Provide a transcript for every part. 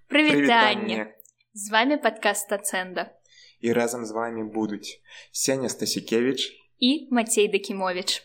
Прывітанне! З вами падкаст Стацэнда. І разам з вами будуць Сеня Стасікевіч і Мацей Дакімовіч.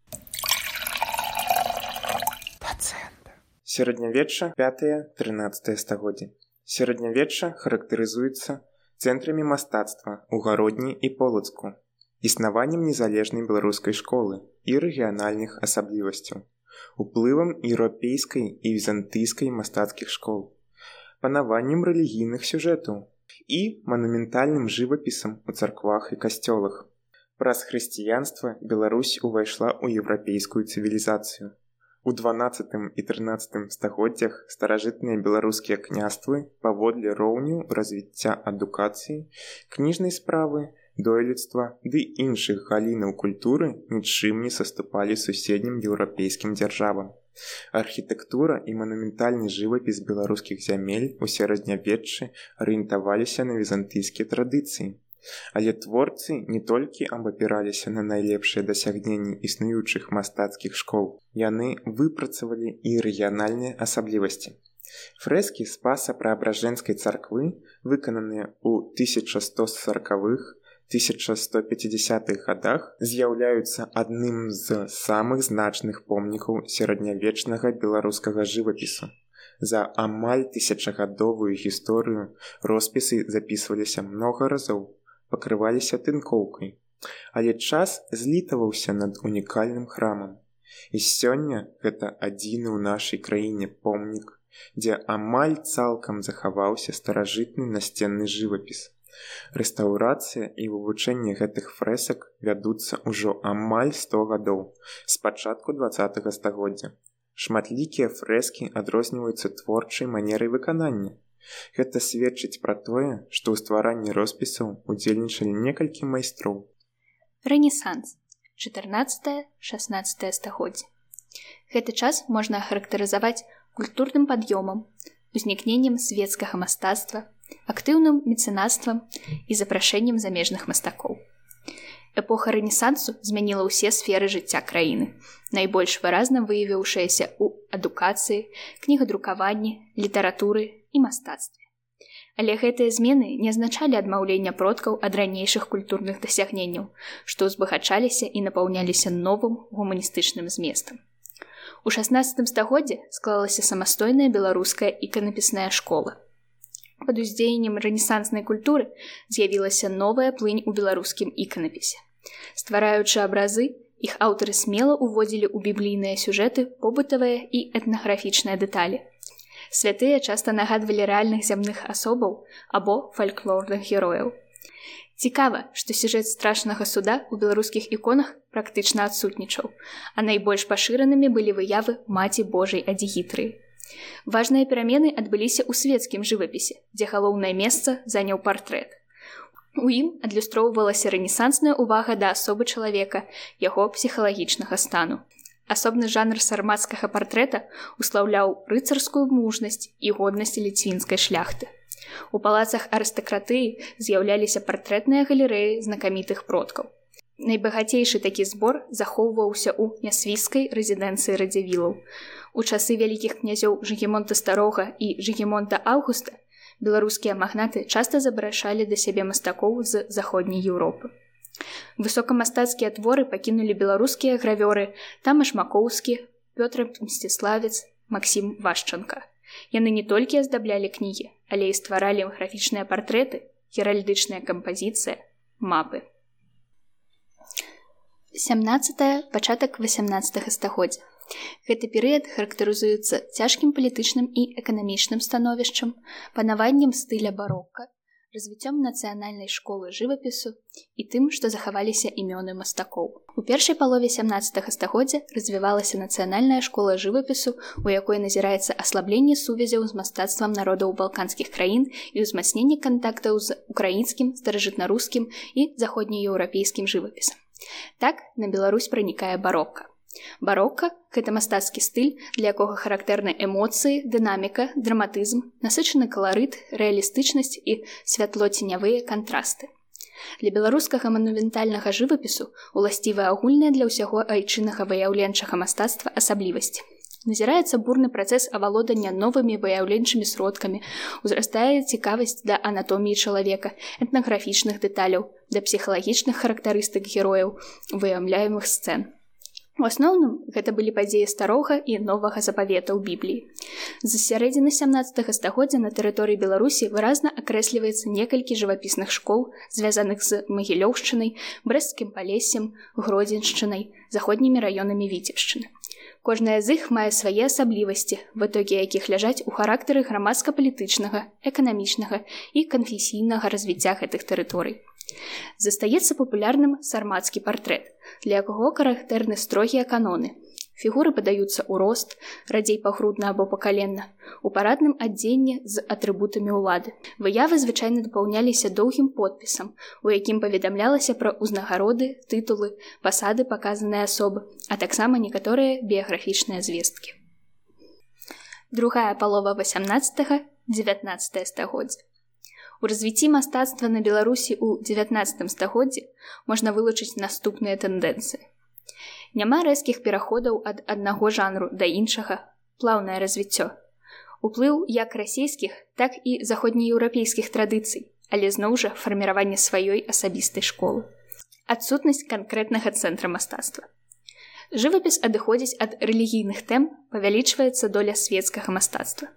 Сярэднявечча 5-13 стагоддзі. Сярэднявечча характарызуецца цэнтрамі мастацтва ў Гародні і Полацку, існаваннем незалежнай беларускай школы і рэгіянальных асаблівасцяў, уплывам еўрапейскай і візантыйскай мастацкіх школ, панаваннем рэлігійных сюжэтаў і манументальным жывапісам у царквах і касцёлах. Праз хрысціянства Беларусь увайшла ў еўрапейскую цывілізацыю. У 12 і 13 стагоддзях старажытныя беларускія княствы паводле роўню развіцця адукацыі, кніжнай справы, дойлідства ды іншых галінаў культуры нічым не саступалі суседнім еўрапейскім дзяржавам. Архітэктура і манументальны жывапіс беларускіх зямель у сярэднявеччы арыентаваліся на візантыйскія традыцыі. Але творцы не толькі абапіраліся на найлепшыя дасягненні існуючых мастацкіх школ, яны выпрацавалі і рэгіянальныя асаблівасці. Фрэскі Спаса-Преабражэнскай царквы, выкананыя ў 1140-х, 1150-х гадах, з'яўляюцца адным з самых значных помнікаў сярэднявечнага беларускага жывапісу. За амаль тысячагадовую гісторыю роспісы запісваліся многа разоў, пакрываліся тынкоўкай, але час злітаваўся над унікальным храмам. І сёння гэта адзіны ў нашай краіне помнік, дзе амаль цалкам захаваўся старажытны насценны жывапіс. Рэстаўрацыя і вывучэнне гэтых фрэсак вядуцца ўжо амаль 100 гадоў, з пачатку 20-го стагоддзя. Шматлікія фрэскі адрозніваюцца творчай манерай выканання. Гэта сведчыць пра тое, што ў стваранні роспісаў удзельнічалі некалькі майстроў. Рэнесанс. 14-16 стагоддзе. Гэты час можна ахарактарызаваць культурным пад'ёмам, узнікненнем свецкага мастацтва, актыўным мецэнацтвам і запрашэннем замежных мастакоў. Эпоха рэнесансу змяніла ўсе сферы жыцця краіны, найбольш выразна выявіўшаяся ў адукацыі, кнігадрукаванні, літаратуры і мастацтве. Але гэтыя змены не азначалі адмаўлення продкаў ад ранейшых культурных дасягненняў, што ўзбагачаліся і напаўняліся новым гуманістычным зместам. У 16 стагоддзі склалася самастойная беларуская іканапісная школа. Пад уздзеяннем рэнесанснай культуры з'явілася новая плынь у беларускім іканапісе. Ствараючы абразы, іх аўтары смела ўводзілі ў біблійныя сюжэты побытавыя і этнаграфічныя дэталі. Святыя часта нагадвалі рэальных зямных асобаў або фальклорных герояў. Цікава, што сюжэт страшнага суда ў беларускіх іконах практычна адсутнічаў, а найбольш пашыранымі былі выявы Маці Божай Адзігітрыі. Важныя перамены адбыліся ў свецкім жывапісе, дзе галоўнае месца заняў партрэт. У ім адлюстроўвалася рэнесансная ўвага да асобы чалавека, яго псіхалагічнага стану. Асобны жанр сармацкага партрэта услаўляў рыцарскую мужнасць і годнасць ліцвінскай шляхты. У палацах арыстакратыі з'яўляліся партрэтныя галерэі знакамітых продкаў. Найбагацейшы такі збор захоўваўся ў нясвіжскай рэзідэнцыі радзівілаў. У часы вялікіх князёў Жыгімонта Старога і Жыгімонта Аўгуста беларускія магнаты часта запрашалі да сябе мастакоў з заходняй Еўропы. Высокамастацкія творы пакінулі беларускія гравёры Тамаш Макоўскі, Пётр Мсціславец, Максім Вашчанка. Яны не толькі аздаблялі кнігі, але і стваралі графічныя партрэты, геральдычная кампазіцыя, мапы. 17 пачатак 18 стагоддзя. Гэты перыяд характарызуецца цяжкім палітычным і эканамічным становішчам, панаваннем стыля барока, развіццём нацыянальнай школы жывапісу і тым, што захаваліся імёны мастакоў. У першай палове 17 стагоддзя развівалася нацыянальная школа жывапісу, у якой назіраецца аслабленне сувязяў з мастацтвам народаў балканскіх краін і ўзмацненне кантактаў з украінскім, старажытнарускім і заходнееўрапейскім жывапісам. Так на Беларусь пранікае барока. Барока – гэта мастацкі стыль, для якога характэрны эмоцыі, дынаміка, драматызм, насычаны каларыт, рэалістычнасць і святло-ценявыя кантрасты. Для беларускага манументальнага жывапісу уласцівая агульная для ўсяго айчыннага выяўленчага мастацтва асаблівасць. Назіраецца бурны працэс авалодання новымі выяўленчымі сродкамі, узрастае цікавасць да анатоміі чалавека, этнаграфічных дэталяў, да псіхалагічных характарыстык герояў, выяўляемых сцэн. У асноўным, гэта былі падзеі старога і новага запавета ў Бібліі. З сярэдзіны 17 стагоддзя на тэрыторыі Беларусі выразна акрэсліваецца некалькі жывапісных школ, звязаных з Магілёўшчынай, Брэсцкім палессем, Гродзеншчынай, заходнімі раёнамі Віцебшчыны. Кожная з іх мае свае асаблівасці, вытокі якіх ляжаць у характары грамадска-палітычнага, эканамічнага і канфесійнага развіцця гэтых тэрыторый. Застаецца папулярным сармацкі партрэт, для якога характэрны строгія каноны. Фігуры падаюцца ў рост, радзей пагрудна або пакаленна, у парадным адзенні з атрыбутамі ўлады. Выявы звычайна дапаўняліся доўгім подпісам, у якім паведамлялася пра ўзнагароды, тытулы, пасады паказанай асобы, а таксама некаторыя біяграфічныя звесткі. Другая палова 18-19 стагоддзя. У развіцці мастацтва на Беларусі ў 19 стагоддзі можна вылучыць наступныя тэндэнцыі. Няма рэзкіх пераходаў ад аднаго жанру да іншага, плаўнае развіццё. Уплыў як расійскіх, так і заходнееўрапейскіх традыцый, але зноў жа фарміраванне сваёй асабістай школы. Адсутнасць канкрэтнага цэнтра мастацтва. Жывапіс адыходзіць ад рэлігійных тэм, павялічваецца доля свецкага мастацтва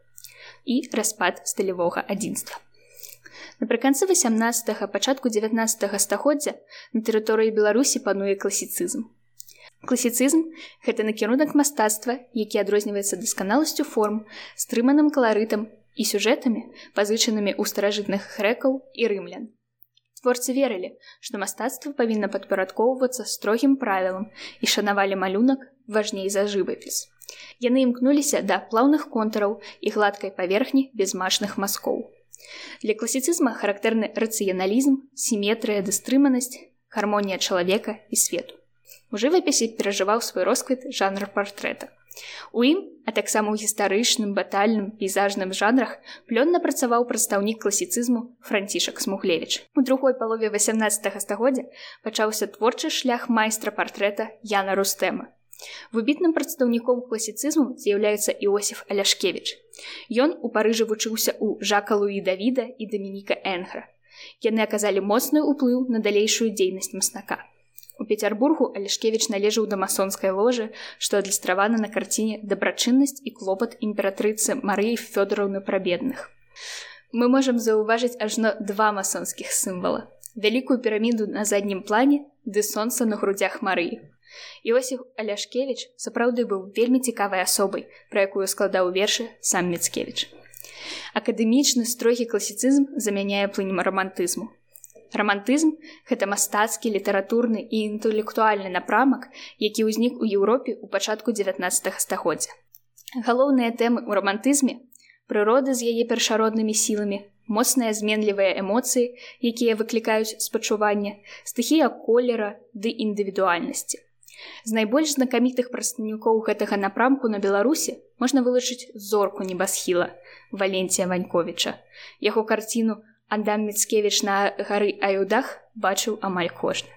і распад стылявога адзінства. Напрыканцы 18-га, пачатку 19 стагоддзя на тэрыторыі Беларусі пануе класіцызм. Класіцызм – гэта накірунак мастацтва, які адрозніваецца дасканаласцю форм, стрыманым каларытам і сюжэтамі, пазычанымі ў старажытных грэкаў і рымлян. Творцы верылі, што мастацтва павінна падпарадкоўвацца строгім правілам і шанавалі малюнак важней за жывапіс. Яны імкнуліся да плаўных контураў і гладкай паверхні без мачных мазкоў. Для класіцызма характэрны рацыяналізм, сіметрыя ды стрыманасць, гармонія чалавека і свету. У жывапісе перажываў свой росквіт жанр партрэта. У ім, а таксама ў гістарычным, батальным, пейзажным жанрах плённа працаваў прадстаўнік класіцызму Францішак Смуглевіч. У другой палове 18 стагоддзя пачаўся творчы шлях майстра партрэта Яна Рустэма. Выбітным прадстаўніком класіцызму з'яўляецца Іосіф Аляшкевіч. Ён у Парыжы вучыўся ў Жака Луі Давіда і Дамініка Энгра. Яны аказалі моцны ўплыў на далейшую дзейнасць мастака. У Пецярбургу Аляшкевіч належаў да масонскай ложы, што адлюстравана на карціне «Дабрачыннасць і клопат імператрыцы Марыі Фёдораўны пра бедных». Мы можам заўважыць ажно два масонскіх сімвала. Вялікую піраміду на заднім плане ды сонца на грудзях Марыі. Іосіф Аляшкевіч сапраўды быў вельмі цікавай асобай, пра якую складаў вершы сам Міцкевіч. Акадэмічны строгі класіцызм замяняе плынь рамантызму. Рамантызм – гэта мастацкі, літаратурны і інтэлектуальны напрамак, які ўзнік у Еўропе ў пачатку 19 стагоддзя. Галоўныя тэмы ў рамантызме – прырода з яе першароднымі сіламі, моцныя зменлівыя эмоцыі, якія выклікаюць спачуванне, стыхія колера ды індывідуальнасці. З найбольш знакамітых прадстаўнікоў гэтага напрамку на Беларусі можна вылучыць зорку небасхіла Валенція Ваньковіча. Яго карціну «Адам Міцкевіч на гары Аюдах» бачыў амаль кожны.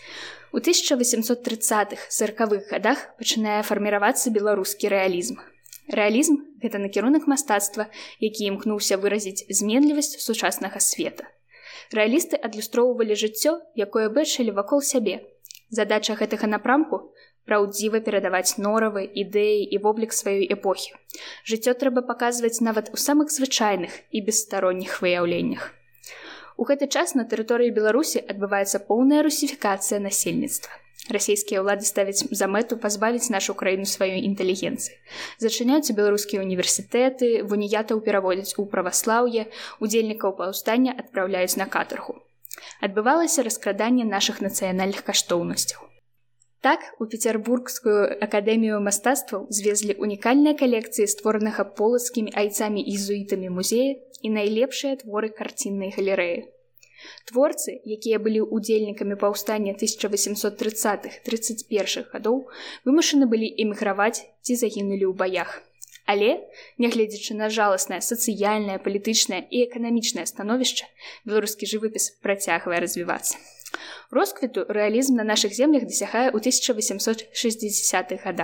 У 1830-40-х гадах пачынае фарміравацца беларускі рэалізм. Рэалізм – гэта накірунак мастацтва, які імкнуўся выразіць зменлівасць сучаснага света. Рэалісты адлюстроўвалі жыццё, якое бачылі вакол сябе. Задача гэтага напрамку – праўдзіва перадаваць норавы, ідэі і воблік сваёй эпохі. Жыццё трэба паказваць нават у самых звычайных і бесстаронніх выяўленнях. У гэты час на тэрыторыі Беларусі адбываецца поўная русіфікацыя насельніцтва. Расійскія ўлады ставяць за мэту пазбавіць нашу краіну сваёй інтэлігенцыі. Зачыняюцца беларускія універсітэты, вуніятаў пераводзяць у праваслаўе, удзельнікаў паўстання адпраўляюць на катаргу. Адбывалася раскраданне нашых нацыянальных каштоўнасцяў. Так, у Пецярбургскую акадэмію мастацтваў звезлі унікальныя калекцыі створанага полацкімі айцамі і езуітамі музея і найлепшыя творы карціннай галерэі. Творцы, якія былі ўдзельнікамі паўстання 1830-31 гадоў, вымушаны былі эміграваць ці загінулі ў баях. Але, нягледзячы на жаласнае сацыяльнае, палітычнае і эканамічнае становішча, беларускі жывапіс працягвае развівацца. Росквіту рэалізм на нашых землях дасягае ў 1860-х гадах.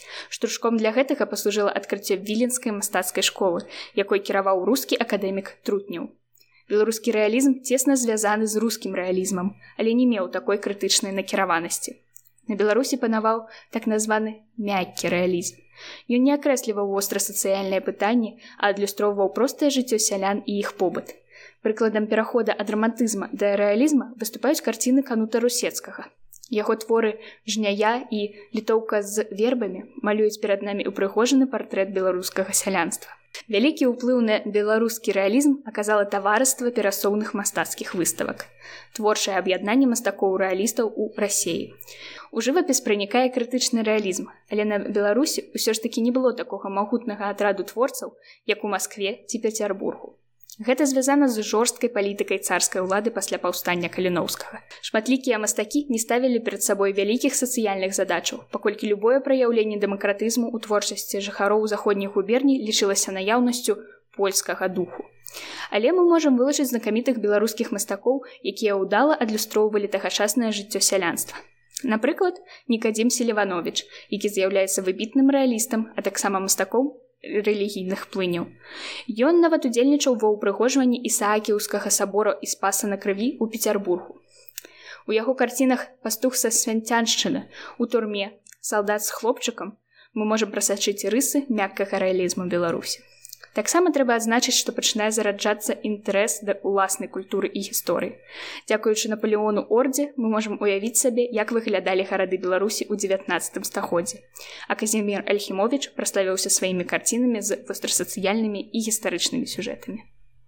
Штуршком для гэтага паслужыла адкрыццё віленскай мастацкай школы, якой кіраваў рускі акадэмік Трутнеў. Беларускі рэалізм цесна звязаны з рускім рэалізмам, але не меў такой крытычнай накіраванасці. На Беларусі панаваў так названы мяккі рэалізм. Ён не акрэсліваў востра сацыяльныя пытанні, а адлюстроўваў простае жыццё сялян і іх побыт. Прыкладам перахода ад рамантызма да рэалізма выступаюць карціны Канута Русецкага. Яго творы «Жняя» і «Літоўка з вербамі» малююць перад намі упрыгожаны партрэт беларускага сялянства. Вялікі ўплыў на беларускі рэалізм аказала таварыства перасоўных мастацкіх выставак, творчае аб'яднанне мастакоў-рэалістаў у Расеі. У жывапіс пранікае крытычны рэалізм, але на Беларусі ўсё ж такі не было такога магутнага атраду творцаў, як у Маскве ці Пецярбургу. Гэта звязана з жорсткай палітыкай царскай улады пасля паўстання Каліноўскага. Шматлікія мастакі не ставілі перад сабой вялікіх сацыяльных задачаў, паколькі любое праяўленне дэмакратызму ў творчасці жыхароў заходніх губерній лічылася наяўнасцю польскага духу. Але мы можам вылучыць знакамітых беларускіх мастакоў, якія ўдала адлюстроўвалі тагачаснае жыццё сялянства. Напрыклад, Нікадзім Селівановіч, які з'яўляецца выбітным рэалістам, а таксама мастаком рэлігійных плыняў. Ён нават удзельнічаў ва ўпрыгожванні Ісаакіўскага сабора і Спаса на крыві ў Пецярбургу. У яго карцінах «Пастух са Свянцяншчыны», «У турме», «Салдат з хлопчыкам» мы можам прасачыць рысы мяккага рэалізму Беларусі. Таксама трэба адзначыць, што пачынае зараджацца інтарэс да ўласнай культуры і гісторыі. Дзякуючы Напалеону Ордзе мы можам уявіць сабе, як выглядалі гарады Беларусі ў 19 стагоддзі. А Казімір Альхімовіч праславіўся сваімі карцінамі з вострасацыяльнымі і гістарычнымі сюжэтамі.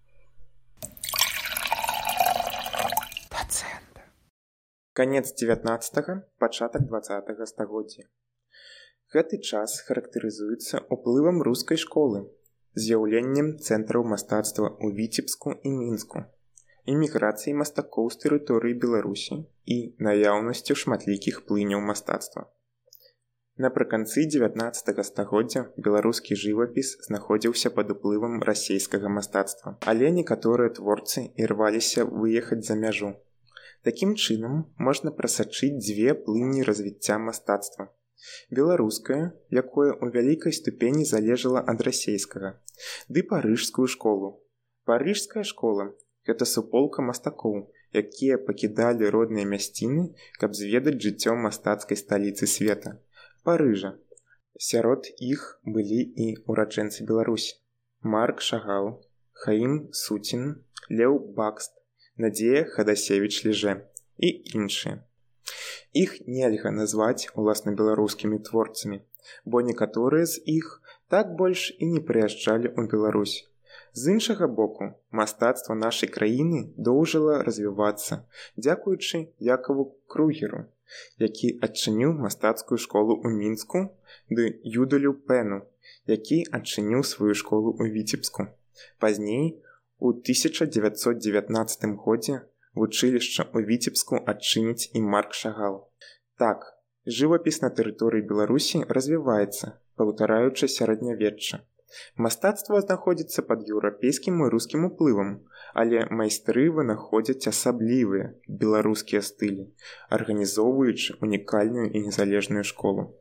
Канец 19-га, пачатак 20-га стагоддзя. Гэты час характарызуецца ўплывам рускай школы, з'яўленнем цэнтраў мастацтва ў Віцебску і Мінску, эміграцыяй мастакоў з тэрыторыі Беларусі і наяўнасцю шматлікіх плыняў мастацтва. Напрыканцы 19-га стагоддзя беларускі жывапіс знаходзіўся пад уплывам расейскага мастацтва, але некаторыя творцы ірваліся выехаць за мяжу. Такім чынам можна прасачыць дзве плыні развіцця мастацтва. Беларуская, якое ў вялікай ступені залежала ад расейскага, ды парыжскую школу. Парыжская школа – гэта суполка мастакоў, якія пакідалі родныя мясціны, каб зведаць жыццё мастацкай сталіцы света – Парыжа. Сярод іх былі і ураджэнцы Беларусі – Марк Шагал, Хаім Суцін, Леў Бакст, Надзея Хадасевіч-Ліжэ і іншыя. Іх нельга назваць уласна беларускімі творцамі, бо некаторыя з іх так больш і не прыязджалі ў Беларусь. З іншага боку, мастацтва нашай краіны доўжыла развівацца дзякуючы Якаву Кругеру, які адчыніў мастацкую школу ў Мінску, ды Юдалю Пену, які адчыніў сваю школу ў Віцебску. Пазней, у 1919 годзе, вучылішча ў Віцебску адчыніць і Марк Шагал. Так, жывапіс на тэрыторыі Беларусі развіваецца, паўтараючы сярэднявечча. Мастацтва знаходзіцца пад еўрапейскім і рускім уплывам, але майстры вынаходзяць асаблівыя беларускія стылі, арганізоўваючы унікальную і незалежную школу.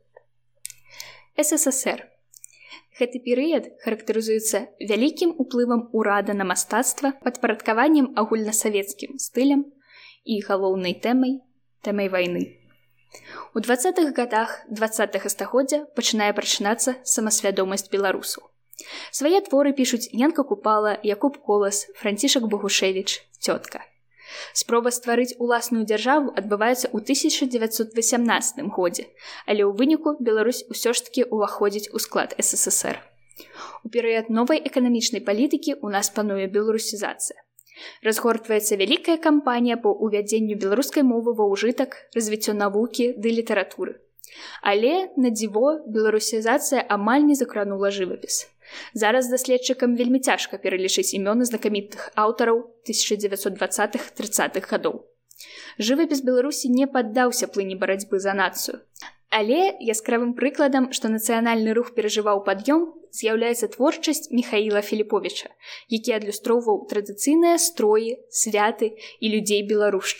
СССР. Гэты перыяд характарызуецца вялікім уплывам урада на мастацтва, падпарадкаваннем агульнасавецкім стылям і галоўнай тэмай вайны. У 20-х гадах 20-га стагоддзя пачынае прачынацца самасвядомасць беларусаў. Свае творы пішуць Янка Купала, Якуб Колас, Францішак Богушевіч, Цётка. Спроба стварыць уласную дзяржаву адбываецца ў 1918 годзе, але ў выніку Беларусь усё ж такі ўваходзіць у склад СССР. У перыяд новай эканамічнай палітыкі ў нас пануе беларусізацыя. Разгортваецца вялікая кампанія па ўвядзенню беларускай мовы ва ўжытак, развіццё навукі ды літаратуры. Але, на дзіво, беларусізацыя амаль не закранула жывапіс. Зараз даследчыкам вельмі цяжка пералічыць імёны знакамітых аўтараў 1920-30-х гадоў. Жывапіс Беларусі не паддаўся плыні барацьбы за нацыю. Але яскравым прыкладам, што нацыянальны рух перажываў пад'ём, з'яўляецца творчасць Міхаіла Філіповіча, які адлюстроўваў традыцыйныя строі, святы і людзей беларушчыны.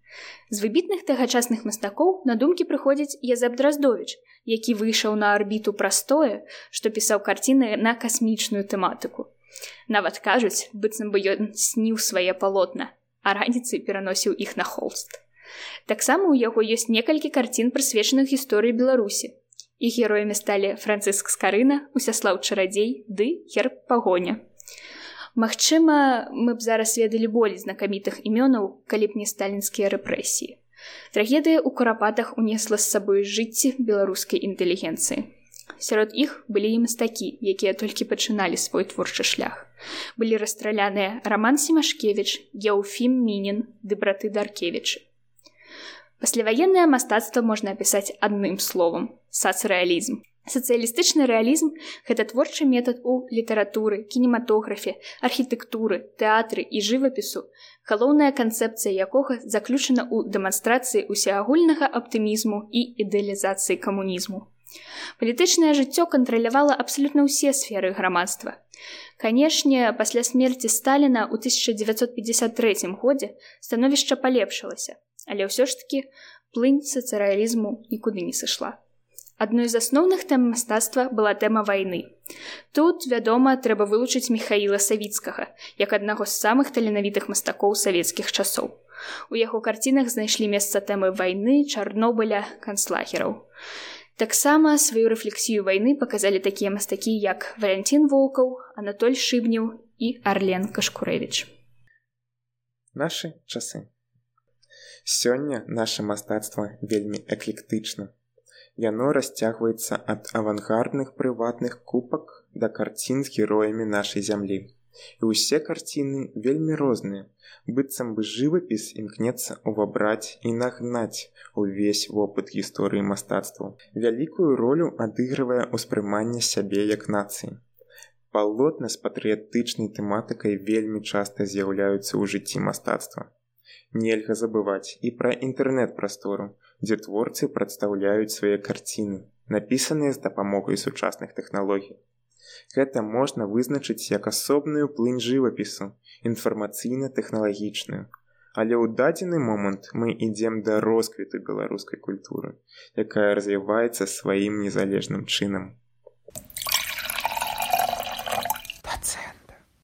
З выбітных тагачасных мастакоў на думкі прыходзіць Язэп Драздовіч, які выйшаў на арбіту праз тое, што пісаў карціны на касмічную тэматыку. Нават кажуць, быццам бы ён сніў свае палотна, а раніцай пераносіў іх на холст. Таксама ў яго ёсць некалькі карцін, прысвечаных гісторыі Беларусі. Іх героямі сталі Францыск Скарына, Усяслаў Чарадзей ды герб Пагоня. Магчыма, мы б зараз ведалі болей знакамітых імёнаў, калі б не сталінскія рэпрэсіі. Трагедыя ў Курапатах унесла з сабой жыцці беларускай інтэлігенцыі. Сярод іх былі і мастакі, якія толькі пачыналі свой творчы шлях. Былі расстраляныя Раман Семашкевіч, Еўфім Мінін ды браты Даркевічы. Пасляваеннае мастацтва можна апісаць адным словам – сацрэалізм. Сацыялістычны рэалізм – гэта творчы метад у літаратуры, кінематографе, архітэктуры, тэатры і жывапісу, галоўная канцэпцыя якога заключана ў дэманстрацыі усеагульнага аптымізму і ідэалізацыі камунізму. Палітычнае жыццё кантралявала абсалютна ўсе сферы грамадства. Канешне, пасля смерці Сталіна ў 1953 годзе становішча палепшылася, але ўсё ж такі плынь сацыяалізму нікуды не сышла. Адной з асноўных тэм мастацтва была тэма вайны. Тут, вядома, трэба вылучыць Міхаіла Савіцкага, як аднаго з самых таленавітых мастакоў савецкіх часоў. У яго карцінах знайшлі месца тэмы вайны, Чарнобыля, канцлагераў. Таксама сваю рэфлексію вайны паказалі такія мастакі, як Валянцін Волкаў, Анатоль Шыбнеў і Арлен Кашкурэвіч. Нашы часы. Сёння наша мастацтва вельмі эклектычна. Яно расцягваецца ад авангардных прыватных купак да карцін з героямі нашай зямлі. І ўсе карціны вельмі розныя, быццам бы жывапіс імкнецца увабраць і нагнаць увесь вопыт гісторыі мастацтва. Вялікую ролю адыгрывае ўспрыманне сябе як нацыі. Палотны з патрыятычнай тэматыкай вельмі часта з'яўляюцца ў жыцці мастацтва. Нельга забываць і пра інтэрнэт-прастору, дзе творцы прадстаўляюць свае карціны, напісаныя з дапамогай сучасных тэхналогій. Гэта можна вызначыць як асобную плынь жывапісу, інфармацыйна-тэхналагічную. Але ў дадзены момант мы ідзем да росквіту беларускай культуры, якая развіваецца сваім незалежным чынам.